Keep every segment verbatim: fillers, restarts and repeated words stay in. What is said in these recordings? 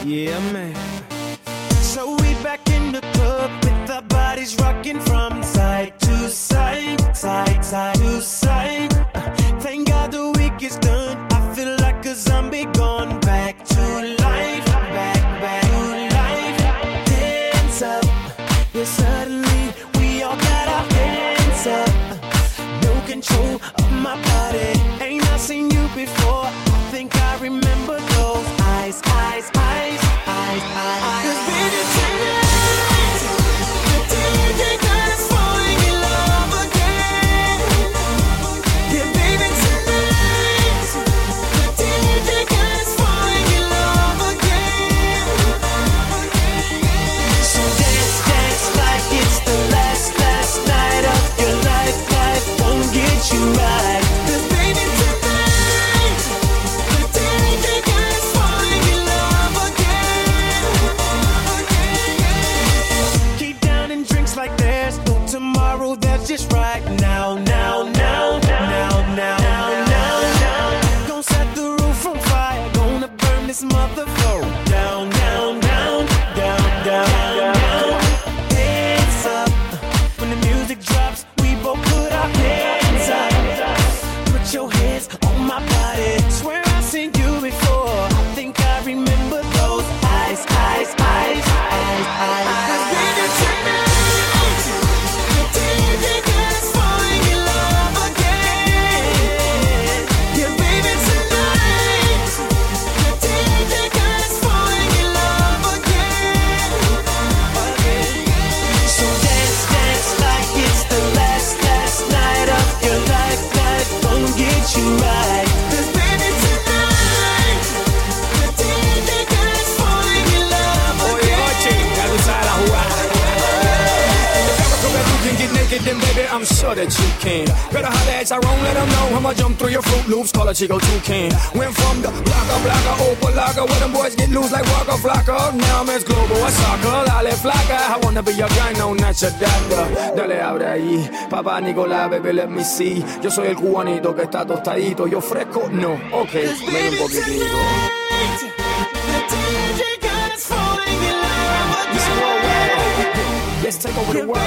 Yeah, man. So we back in the club with our bodies rocking from side to side, side, side to side. Uh, thank God the week is done. I feel like a zombie gone back to life, back, back to life. Hands up, yeah, suddenly we all got our hands up. Uh, no control of my body. Ain't I seen you before? I think I remember those eyes, eyes, eyes, eyes, eyes. Cause baby tonight, the D J got us falling in love again. Yeah, baby tonight, the D J got us falling in love again. So dance, dance like it's the last, last night of your life. Life won't get you right. Cause baby tonight, the D J got us falling in love again. Keep down and drinks like there's no tomorrow. That's just right now, now, now, now, now, now, now, now. Gonna set the roof on fire. Gonna burn this motherfucker down, down, down, down, down, down. Hands up. When the music drops, we both put our hands up. Put your hands on my body. Swear I've seen you before. I think I remember those eyes, eyes, eyes, eyes, eyes. Cause baby tonight, the D J got us falling in love again. Yeah, baby tonight, the D J got us falling in love again. So dance, dance like it's the last, last night of your life. Life won't get you right. Cause baby tonight, the D J got us falling in love Oye, Ochi, ya tú sabes la jugada. If you can get naked, then baby, I'm sure that you can. Better holler at Tyrone, let him know I'ma jump through your Fruit Loops, call a Chico Toucan. Went from the blocker, blocker, Opal locker, where them boys get loose like Waka Flocka. Now I'm as global as soccer, Lale Flocka. I wanna be your guy, no, not your doctor. Dale, abre ahí, papá Nicolás, baby, let me see. Yo soy el cubanito que está tostadito, yo fresco, no, ok, ven un poquitito. Let's take over the world.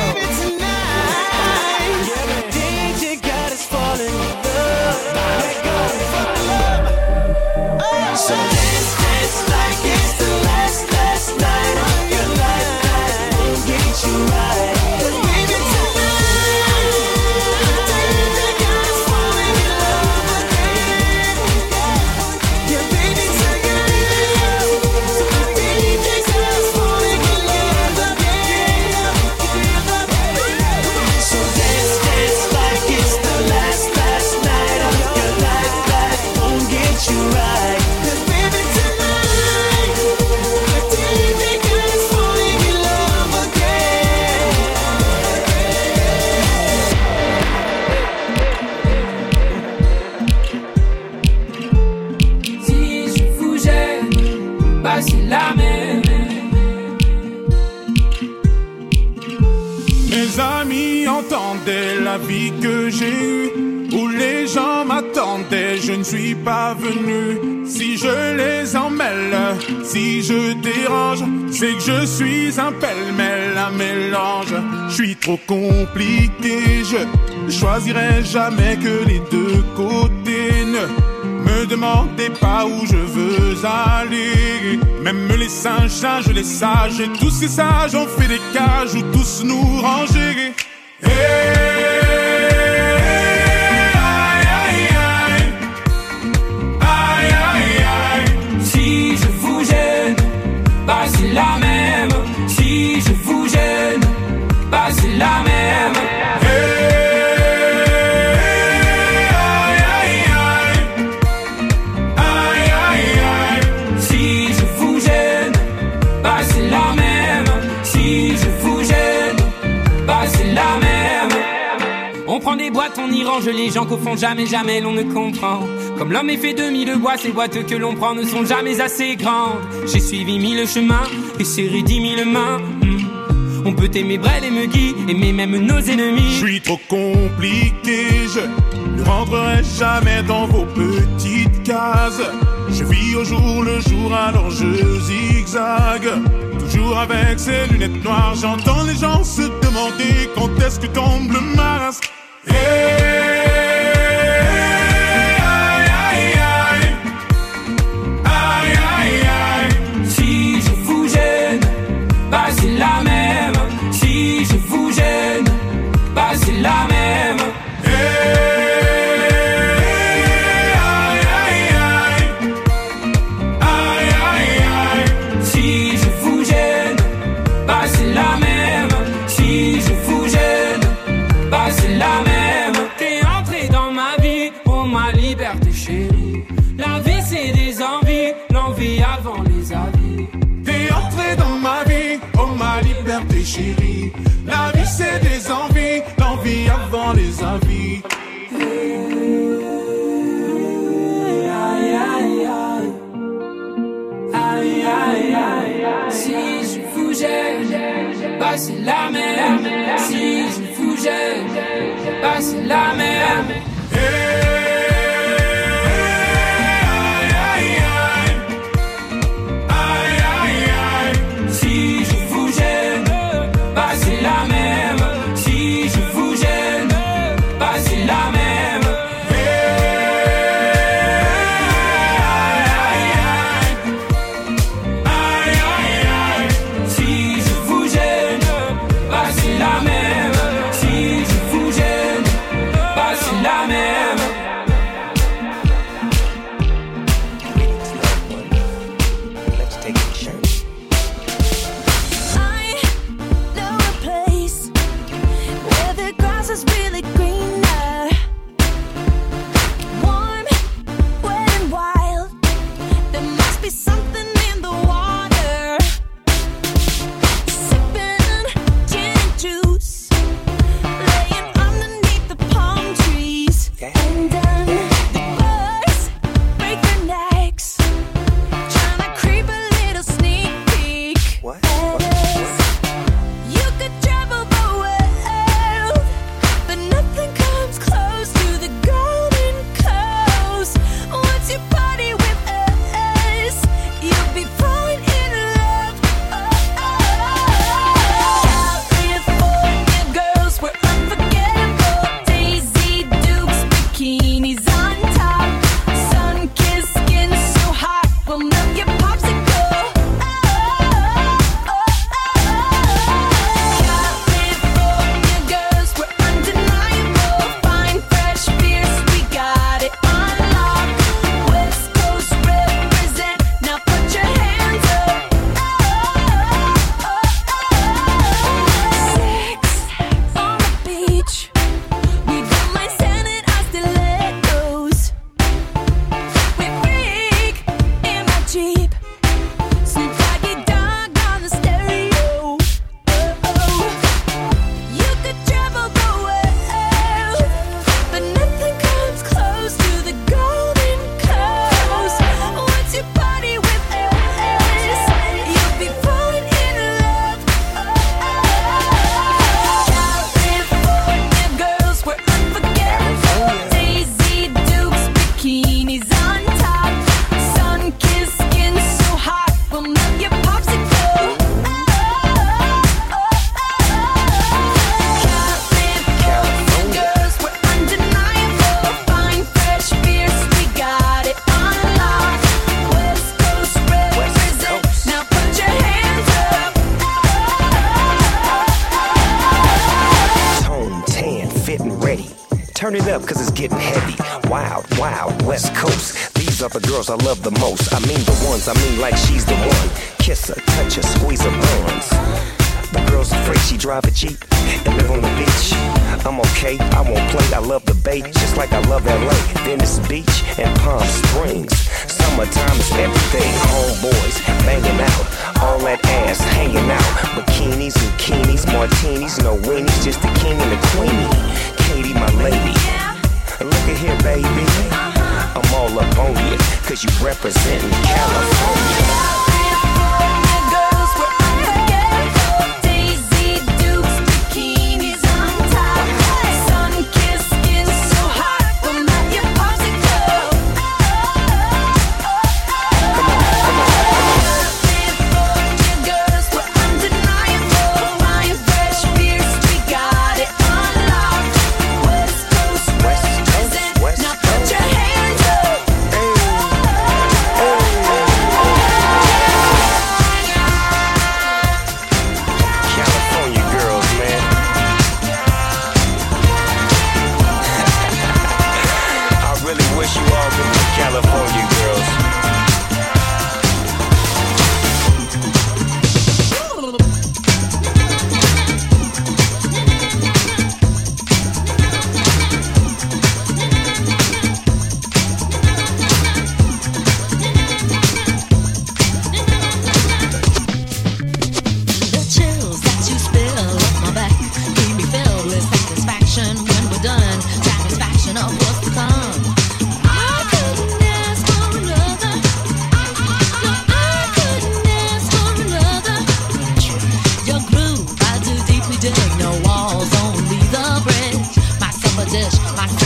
D J got us falling in love. Let go of love. Oh, so dance, dance like it's the last, last night of your life. Life won't get you right. 'Cause baby tonight, D J got us falling in love again. Yeah, baby tonight, D J got us falling in love again. So dance, dance like it's the last, last night of your life. Life won't get you right. 'Cause baby tonight, the D J got us falling in love again. Si je vous gêne, bah c'est la même. Mes amis entendaient la vie que j'ai eue, où les gens m'attendaient, je ne suis pas venu. Si je les emmêle, si je dérange, c'est que je suis un pêle-mêle, un mélange. Je suis trop compliqué, je choisirai jamais que les deux côtés. Ne me demandez pas où je veux aller. Même les singes, singes, les sages, et tous ces sages ont fait des cages où tous nous ranger. Hey, aïe, aïe, aïe. Aïe, aïe, aïe. Si je vous gêne, bah c'est la même. Si je vous gêne, bah c'est la même. Si je vous gêne, bah c'est la même. Si je vous gêne, bah c'est la même. On prend des boîtes, on y range les gens qu'au fond jamais, jamais l'on ne comprend. Comme l'homme est fait de mille bois, ces boîtes que l'on prend ne sont jamais assez grandes. J'ai suivi mille chemins et serré dix mille mains. hmm. On peut aimer Brel et Megui, aimer même nos ennemis. Je suis trop compliqué, je ne rentrerai jamais dans vos petites cases. Je vis au jour le jour, alors je zigzague. Toujours avec ces lunettes noires, j'entends les gens se demander quand est-ce que tombe le masque. Hey, aïe, aïe, aïe. Aïe, aïe, aïe. Si je vous gêne, bah c'est la même. Si je vous gêne, bah c'est la même. Hey. La même. T'es entré dans ma vie, oh ma liberté chérie. La vie c'est des envies, l'envie avant les avis. T'es entré dans ma vie, oh ma liberté chérie. La vie c'est des envies, l'envie avant les avis. Aïe aïe aïe. Aïe aïe aïe. Si je vous gêne, bah c'est la même. Si je vous gêne, bah c'est la même. Hey, aïe, aïe, aïe. Aïe, aïe, aïe. Si je vous gêne, bah c'est la même. Si je vous gêne, bah c'est la même. Turn it up, cause it's getting heavy. Wild, wild, West Coast. These are the girls I love the most. I mean the ones, I mean like she's the one. Kiss her, touch her, squeeze her buns. The girl's afraid she drive a Jeep and live on the beach. I'm okay, I won't play, I love the bay, just like I love L A, Venice Beach and Palm Springs. Summertime is everything, homeboys banging out, all that ass hanging out. Bikinis, bikinis, martinis, no weenies, just the king and the queenie. Katie, my lady, look at here, baby, I'm all up on you, cause you representing California.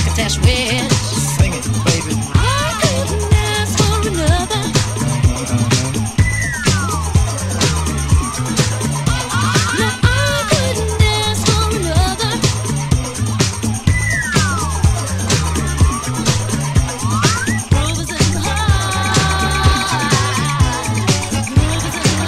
succotash wish. Sing it, baby. I couldn't ask for another. No, I couldn't ask for another. Groove is in the heart. Groove is in the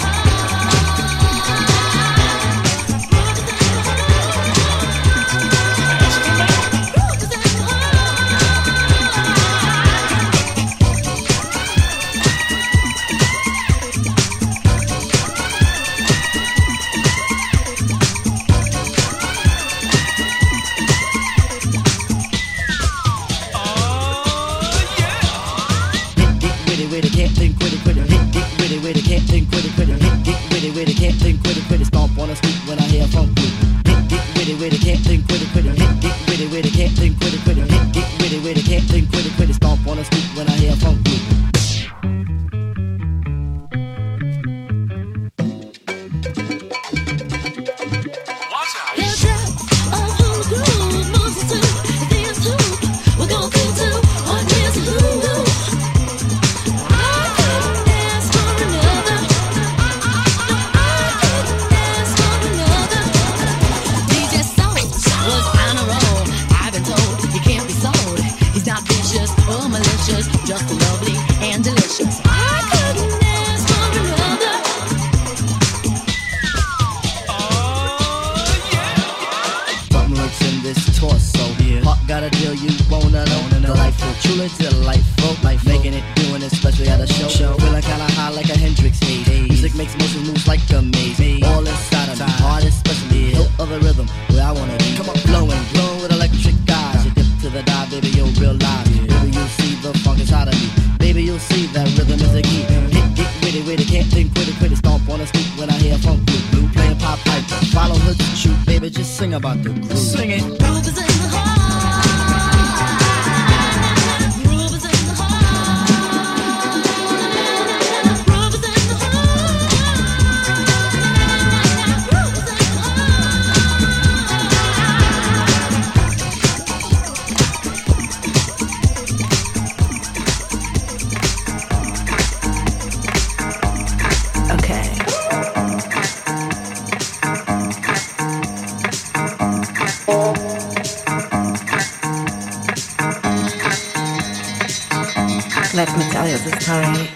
Let me tell you the story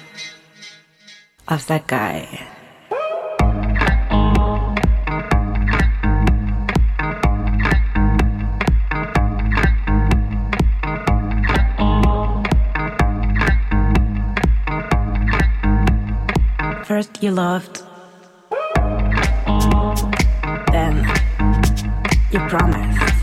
of that guy. First you loved, then you promised,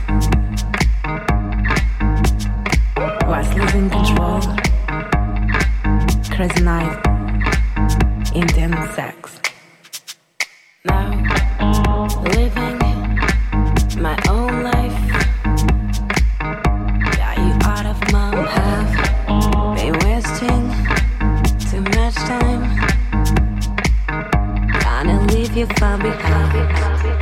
was losing control. Crazy night, intense sex. Now, living my own life. Got you out of my path. Been wasting too much time. Gonna leave you far behind.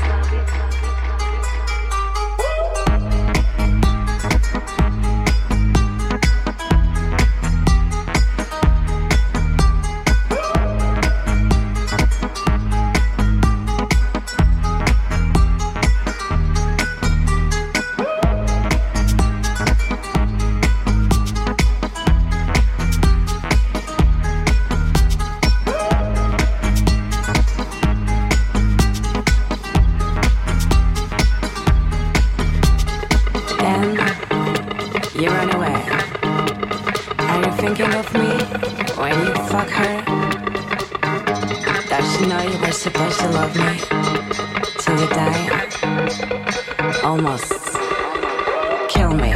You run away. Are you thinking of me when you fuck her? Does she know you were supposed to love me till you die? Almost kill me.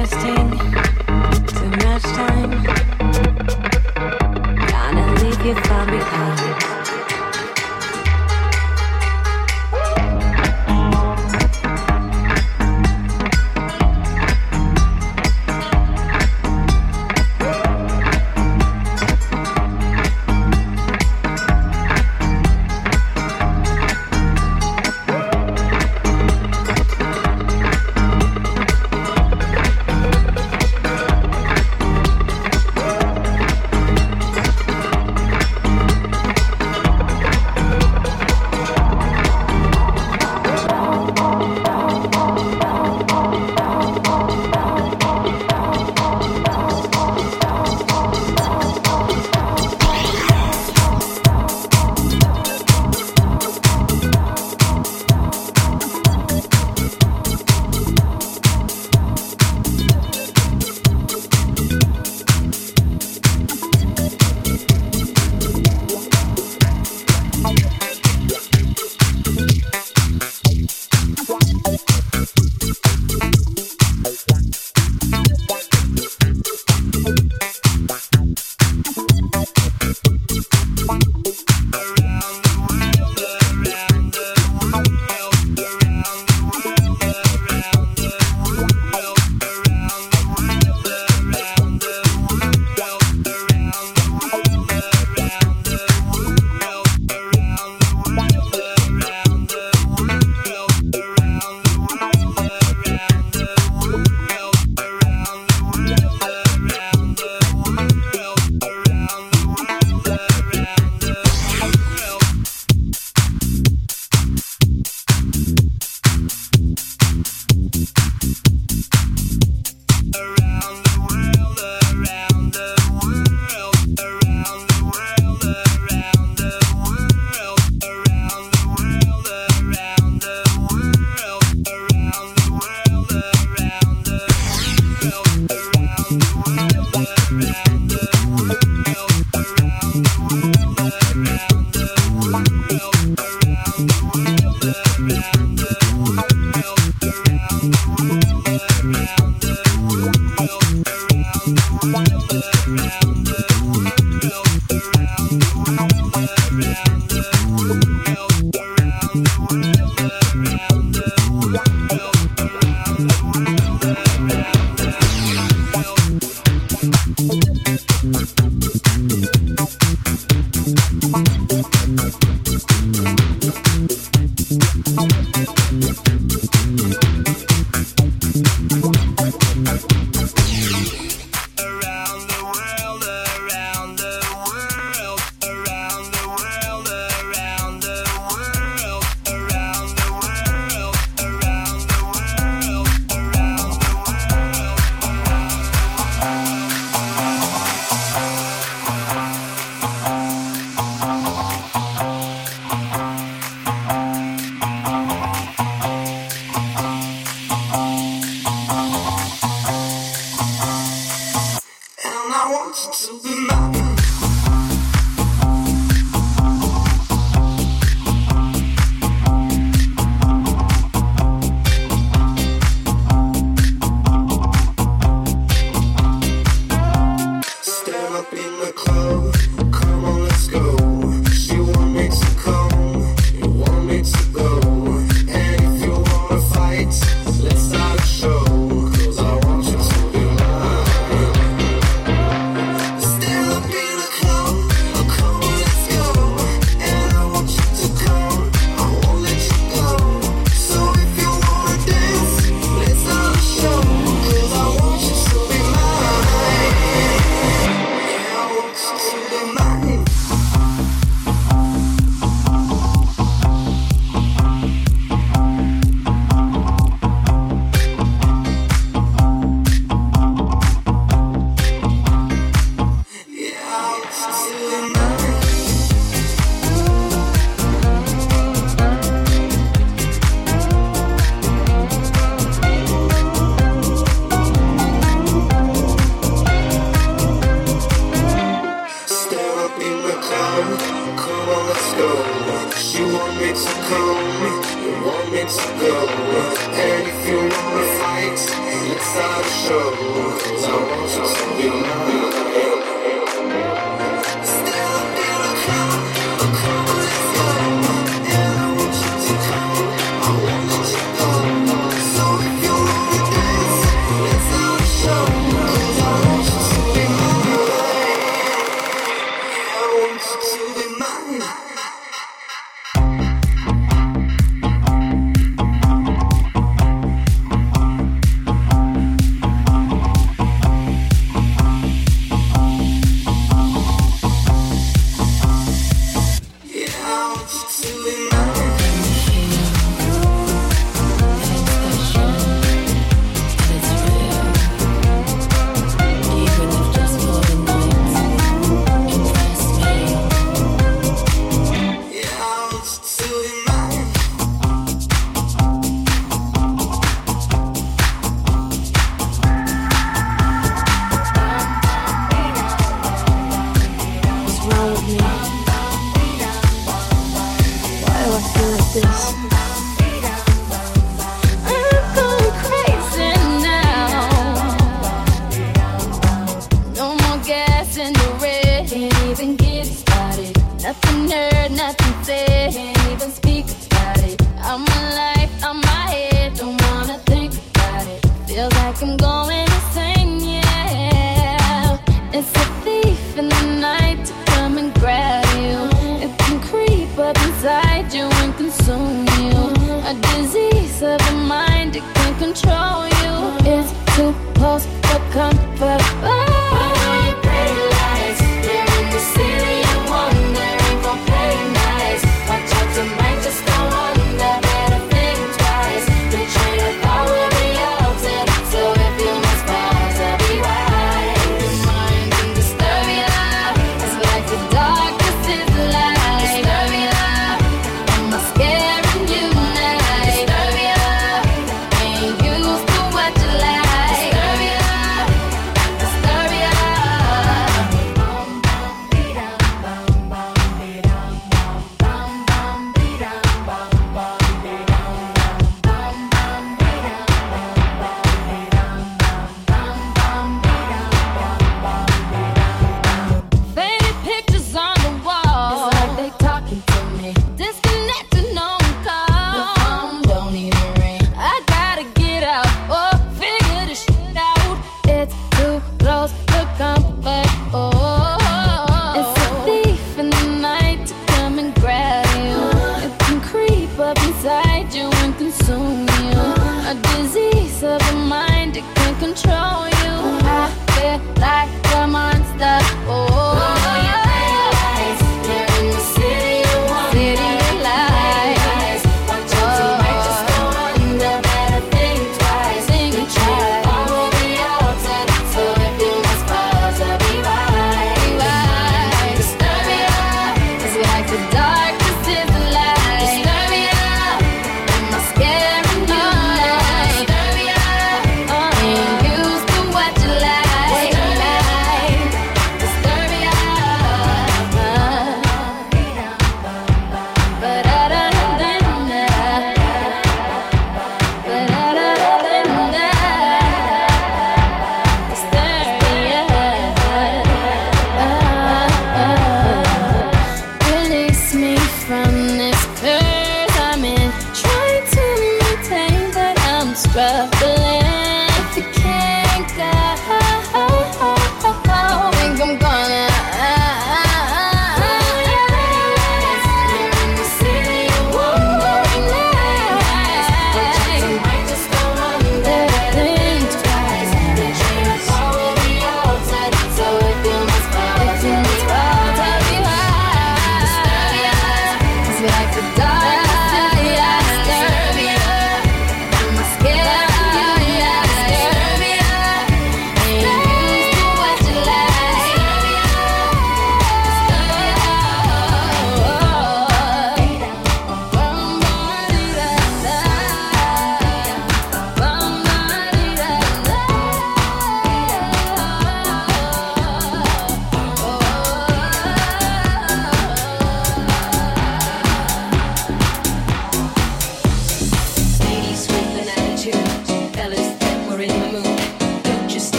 If I'm Still in a club.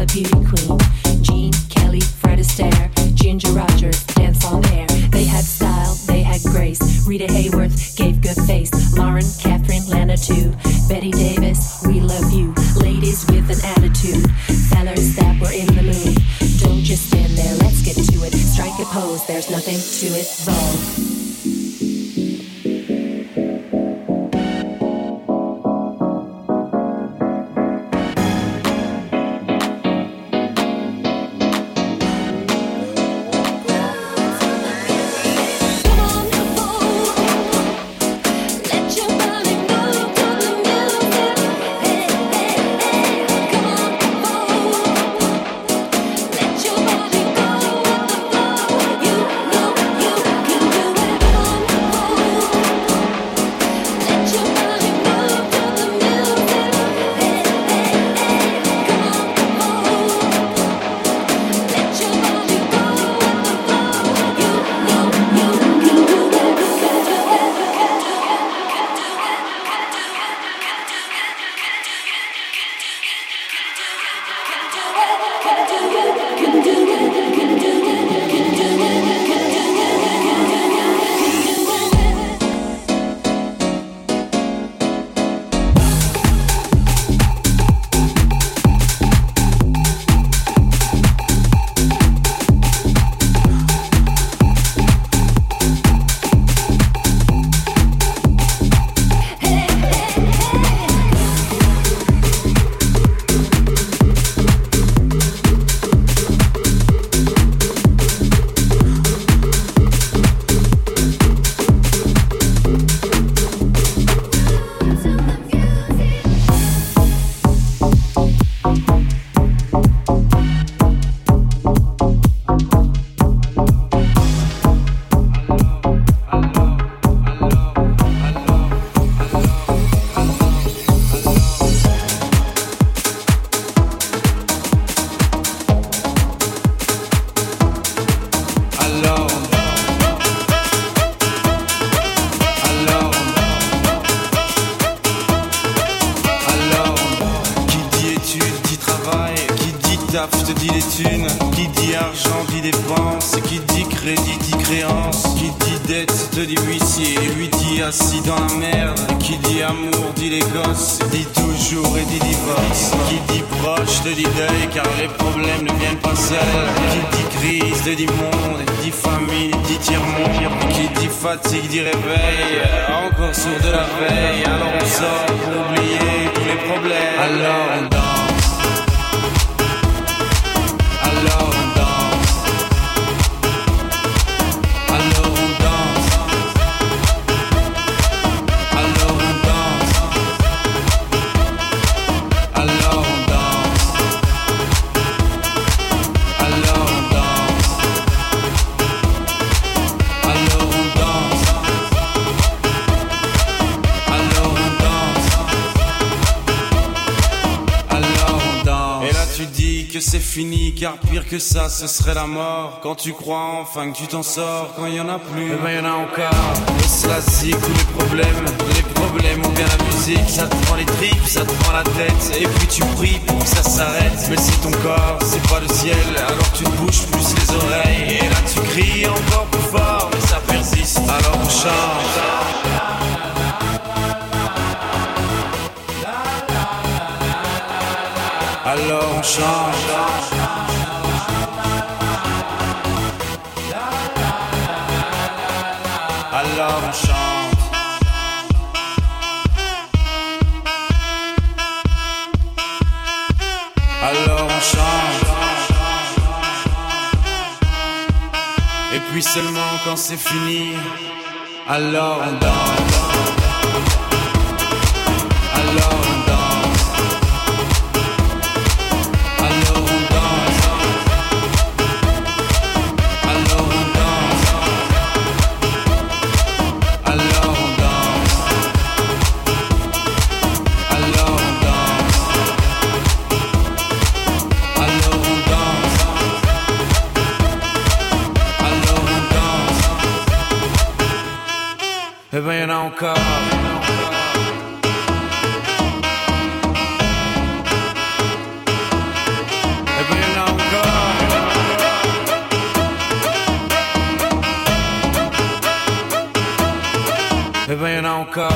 beauty queen. Jean, Kelly, Fred Astaire, Ginger Rogers, dance on air. They had style, they had grace. Rita Hayworth gave good face. Lauren, Catherine, Lana too. Betty Davis, we love you. Ladies with an attitude. Fellas that were in the mood. Don't just stand there, let's get to it. Strike a pose, there's nothing to it. Vogue. Fatigue dit réveil, encore sourd de la veille. Alors on sort pour oublier tous les problèmes. Alors on danse, alors on danse, alors on danse, alors on danse, alors on danse, alors on danse, alors on danse. Que c'est fini, car pire que ça, ce serait la mort. Quand tu crois enfin que tu t'en sors, quand il y en a plus, eh ben y en a encore. Et cela zik ou les problèmes, les problèmes ou bien la musique, ça te prend les tripes, ça te prend la tête, et puis tu pries pour que ça s'arrête. Mais si ton corps c'est pas le ciel, alors tu te bouges plus les oreilles, et là tu cries encore plus fort, mais ça persiste. Alors on chante. Alors on change. Alors on chante. Alors on chante. Et puis seulement quand c'est fini, alors on danse. Alors on danse. Eh ben y'en a encore. Eh encore.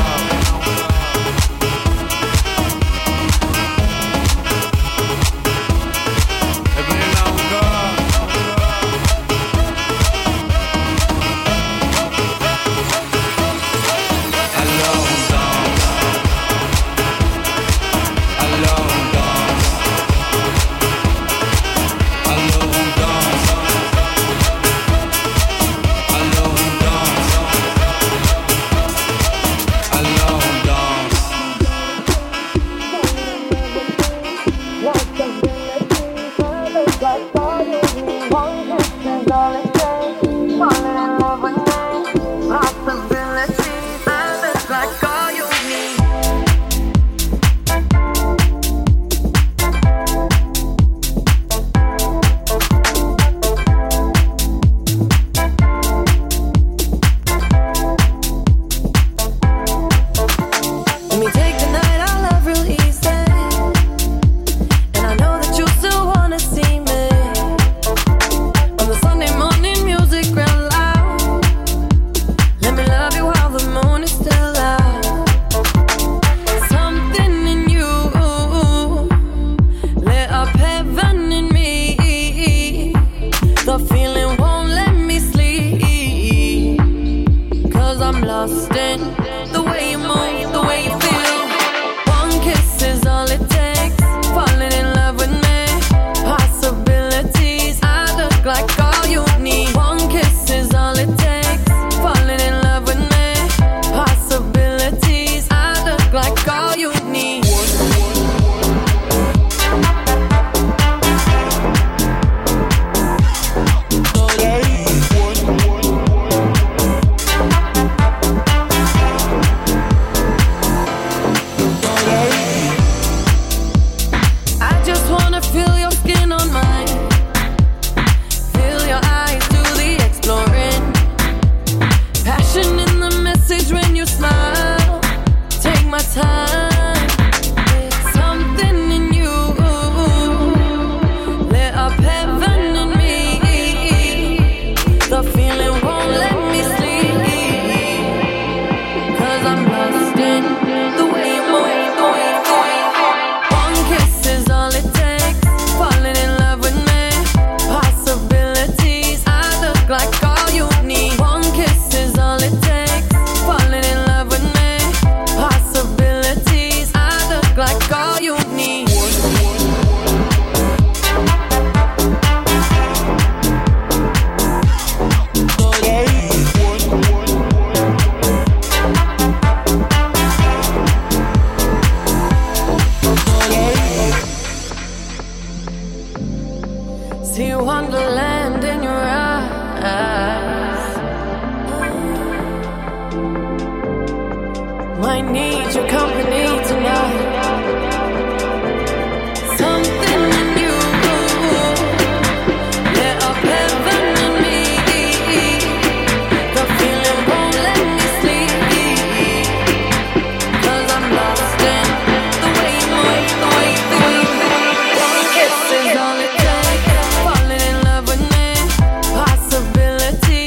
Possibilities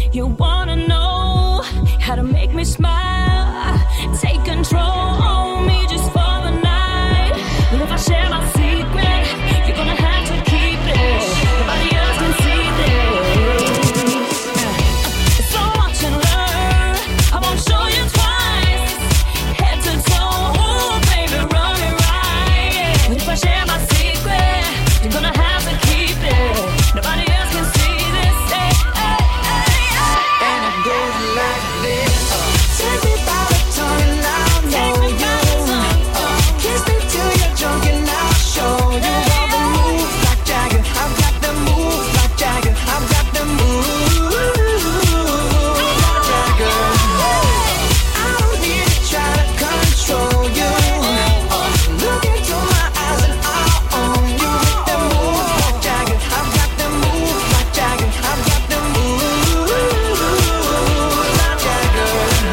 You wanna know how to make me smile? Take control on me just for the night. Well, if I share my secret, you're gonna have to keep it. Nobody else can see this. So watch and learn. I won't show you twice. Head to toe, ooh, baby, run it right. But if I share my secret, you're gonna have to keep it. Nobody else can see this. Hey, hey, hey, hey. And it goes like this. Take me by the tongue and I'll know you. Kiss me till you're drunk and I'll show you all the moves like Jagger. I've got the moves like Jagger. I've got the moves like Jagger. I don't need to try to control you. Look into my eyes and I'll own you with the moves like Jagger. I've got the moves like Jagger. I've got the moves like Jagger.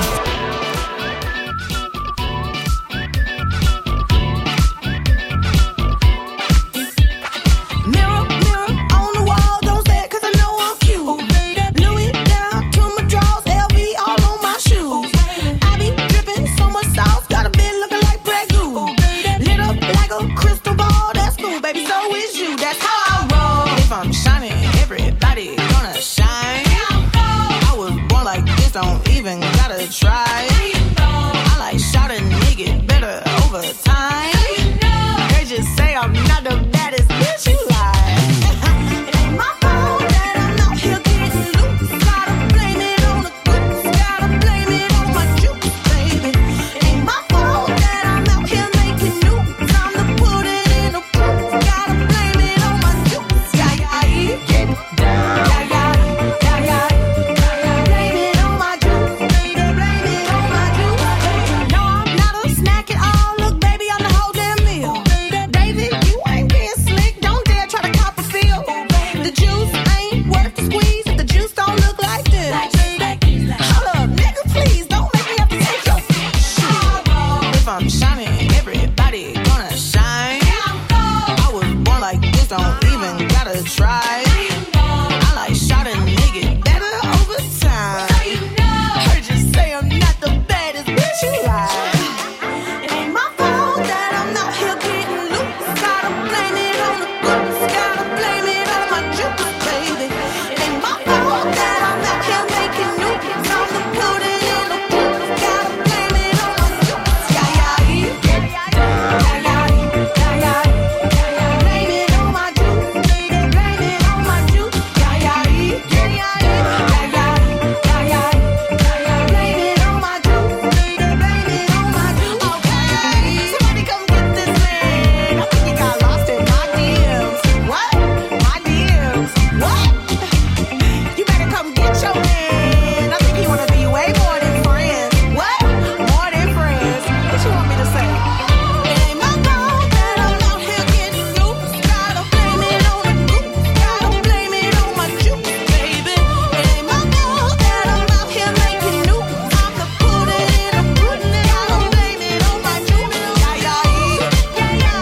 Mirror, mirror on the wall, don't stare 'cause I know I'm cute. Louis down to my drawers, L V all on my shoes. I be dripping so much sauce, got a bit looking like Prego. Lit up like a crystal ball, that's cool, baby, so is you. That's how I roll. If I'm shining, everybody gonna shine. I was born like this, don't even gotta try. I like shot a nigga better over time. They just say I'm not the baddest bitch you like. It ain't my fault that I'm out here getting loose. Gotta blame it on the goose. Gotta blame it on my juice, baby. It ain't my fault that I'm out here making news. Time to put it in a proof. Gotta blame it on my juice. Yeah, yeah, yeah. Get down. Yeah, yeah, yeah, yeah. Blame it on my juice, baby. Blame it on my juice. No, I'm not a snack at all. Look, baby, I'm the whole damn meal. Baby, you ain't being slick. Don't dare try to cop a feel. The juice ain't worth the squeeze if the juice don't look like this. Hold up, nigga, please don't make me have to take your shit. If I'm shining, everybody gonna shine. I was born like this, don't even gotta try. I like shot a nigga better over time. Heard you say I'm not the baddest bitch you like. It ain't my fault that I'm out here getting loose. Gotta blame it on the goose. Gotta blame it on my juice, baby. It ain't my fault that I'm out here making news. Time to put it in a proof. Gotta blame it on my juice. Yeah, yeah, yeah. Yeah, yeah, yeah, yeah, yeah. Blame it on my juice, baby. Blame it on my juice. Yeah, yeah, yeah, yeah, yeah, yeah, yeah, yeah, yeah. Blame it on my juice, baby. Blame it on my juice. Okay, somebody come get this man. I think he got lost in my D Ms. What? My D Ms? What? You better come get your man. I think he wanna be way more than friends. What? More than friends? What you want me to say? It ain't my fault that I'm out here getting loose. Gotta blame it on the goose. Gotta blame it on my juice, baby. It ain't my fault that I'm out here making news. Time to put it in a proof. Gotta blame it on my juice. Yeah, yeah, yeah, yeah,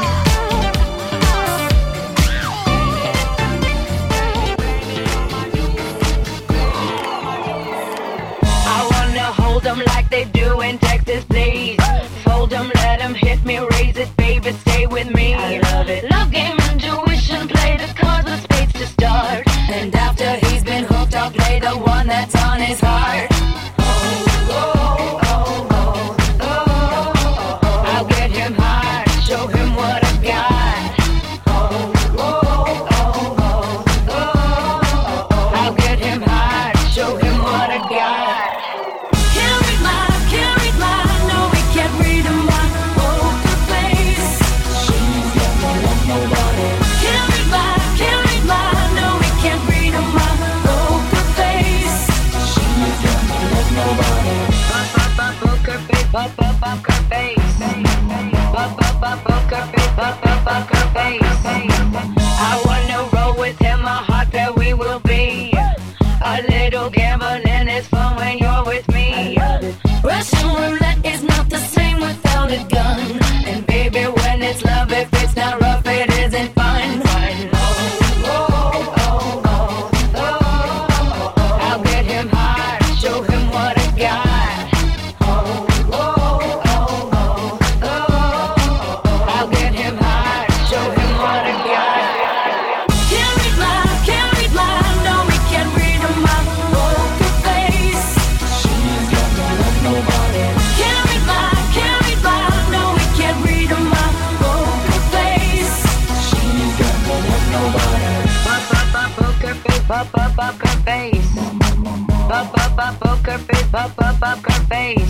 I wanna hold them like they do in Texas, please. Fold them, let them hit me, raise it, baby, stay with me. I love it. Love game, intuition, play the cards with spades to start. And after he's been hooked, I'll play the one that's on his heart. Oh, oh, oh, oh, oh, oh. I'll get him hard, show him what I've got. Oh, oh, oh, oh, oh. I'll get him hard, show him what I got. Can't read my, can't read my, no, we can't read my poker face. She's never love nobody. Can't read my, can't read my, no, we can't read my poker face. She's never love nobody. Poker face, poker face, poker face, poker face. I wanna roll with him, a hot pair we will be. A little gambling is fun when you're with me. Russian roulette is not the same without a gun. And baby, when it's love, if it's not rough, it isn't fun. Oh, oh, oh, oh, oh, oh. I'll get him high. poker face, pop, pop, poker face.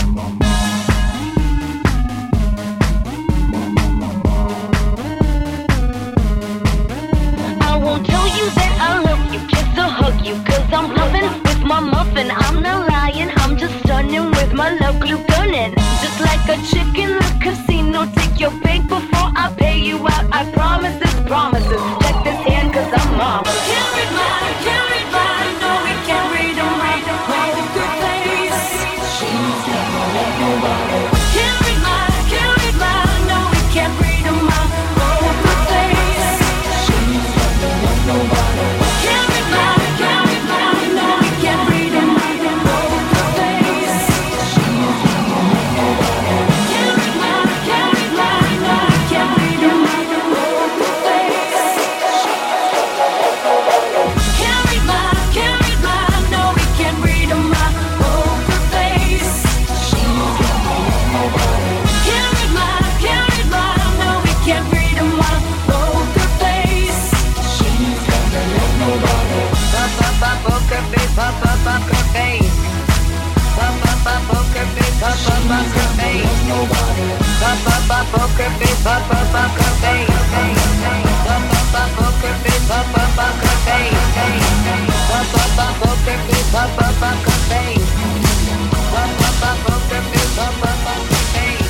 I won't tell you that I love you, just to hug you, cause I'm bluffing with my muffin. I'm not lying, I'm just stunning with my love glue gunning. Just like a chick in the casino, take your bank before I pay you out. I promise this, promises. Check this hand cause I'm mom. Can't read mine, can't read mine, no we can't read them right. Poker face, she's never let nobody. Can't read mine, can't read mine, no we can't read them out. Poker face, she's never let nobody. Can't read mine, can't read mine, no we can't read them right. Poker face, she's never let nobody. Can't read mine, can't read mine, no we can't read them right. Poker face, can't read mine, can't read mine, no we can't read them right. Poker face, she's never let nobody. Can't read mine, can't read mine, no we can't read them right. Poker face, she's never let nobody. Pop, pop, pop, poker face, pop, pop, poker face. Pop, pop, pop, poker face, pop, pop, poker face. Pop, pop, pop, poker face, pop, pop, poker face. Pop, pop, pop, poker face, pop, pop, poker face. Pop, pop, pop, poker face, pop, pop, poker face. Pop, pop, pop, poker face, pop, pop, poker face.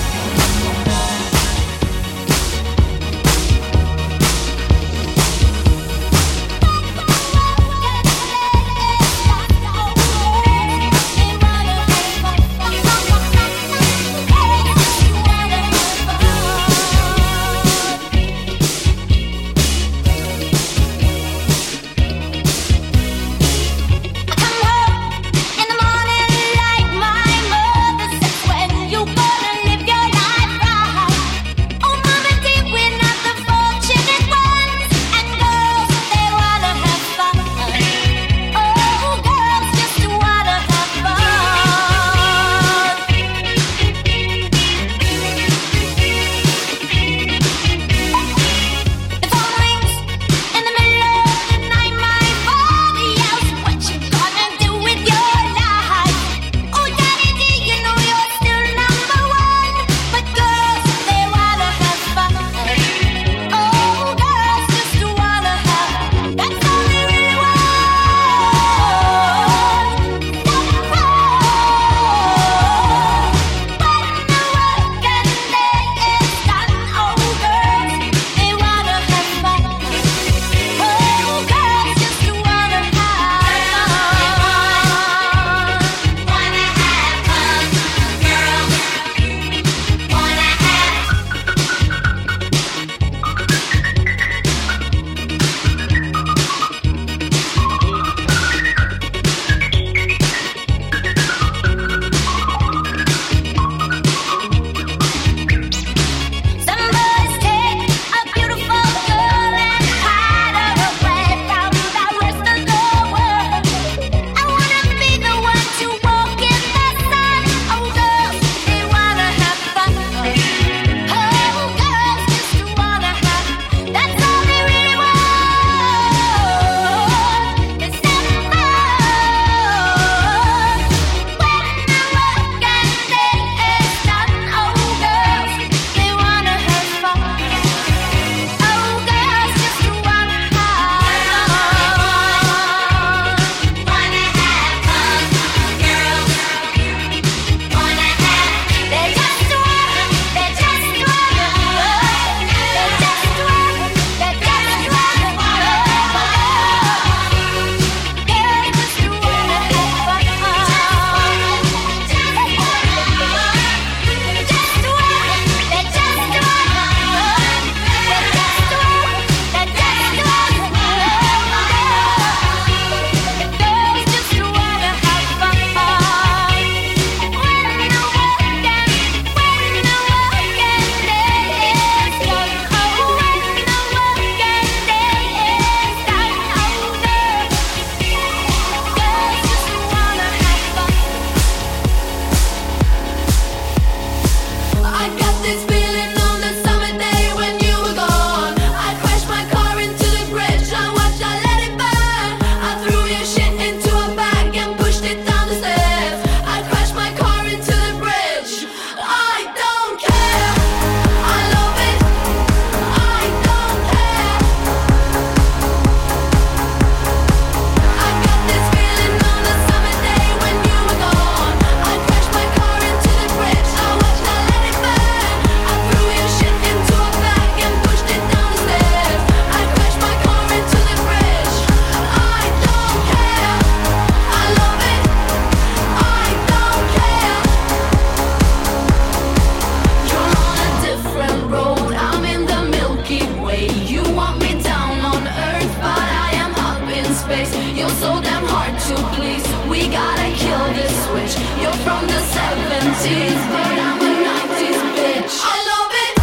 switch. You're from the seventies, but I'm a nineties bitch. I love it.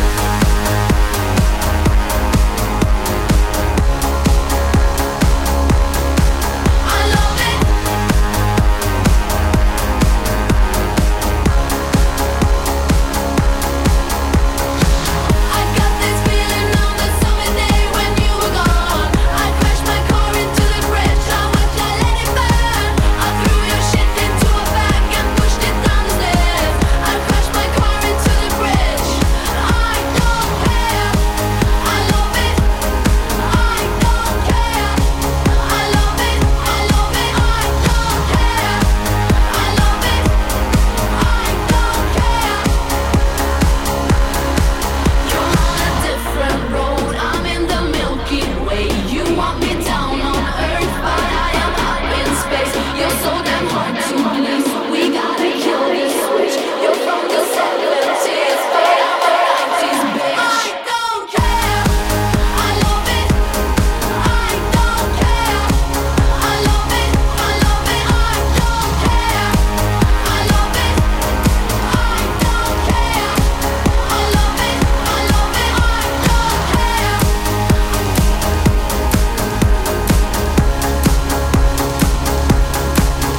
I love it. I got this feeling on the summer day when you were gone. I crashed my car into the bridge. I watched I let it burn. I threw your shit into a bag and pushed it down the stairs. I crashed my car into the bridge. I don't care. I love it. I don't care. I love it. I love it. I don't care. I love it. I don't care. You're on a different road. I'm in the Milky Way. You want me down on Earth, but I am up in space. You're so damn hard to please. We gotta kill this switch. You're from the seventies, but I'm a nineties bitch. I don't care. I love it. I don't care. I love it. I love it. I don't care. I love it. I don't care. I love it. I love it. I don't care.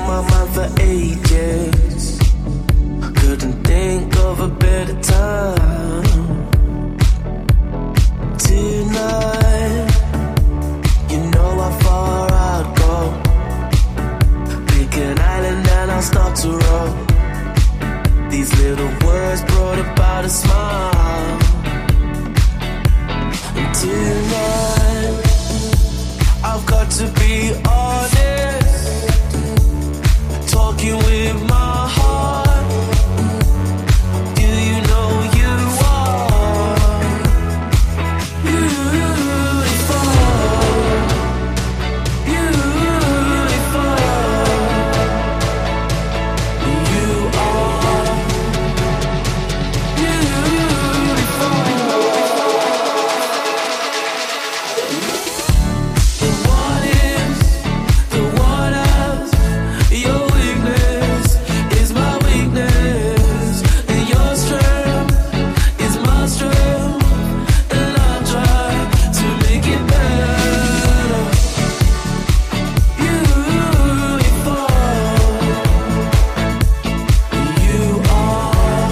my mind for ages. Couldn't think of a better time. Tonight, you know how far I'd go. Pick an island and I'll start to roll. These little words brought about a smile. And tonight, I've got to be honest. Talking with my heart. Do you know you are beautiful? Beautiful. You are beautiful. And what is the what else? Your weakness is my weakness, and your strength is my strength, and I'll try to make it better. Beautiful, you are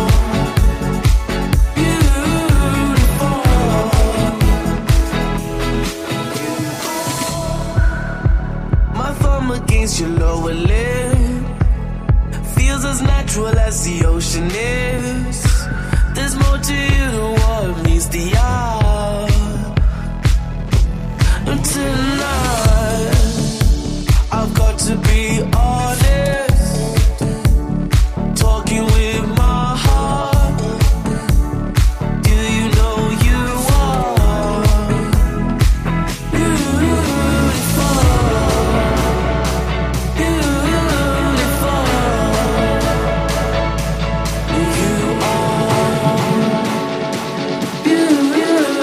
beautiful. My thumb against your lower lip feels as natural as the ocean is. There's more to you than what meets the eye. And tonight, I've got to be honest. Talking with my heart. Do you know you are beautiful? Beautiful. You are beautiful.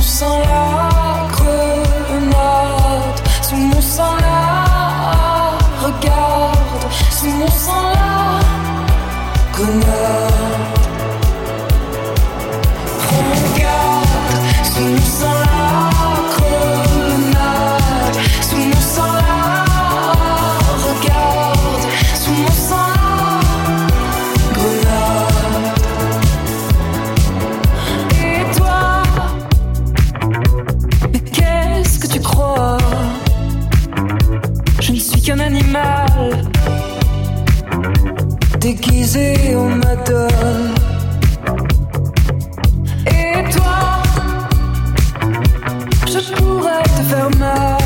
sang la grenade, sous mon sang la regarde, sous mon sang la grenade. Prends garde, sous mon sang la grenade, sous mon sang la regarde, sous mon sang la grenade. Et toi, mais qu'est-ce que tu crois? Je ne suis qu'un animal déguisé en madone. Et toi, je pourrais te faire mal,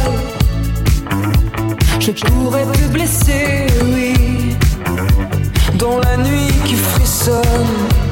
je pourrais te blesser, oui, dans la nuit qui frissonne.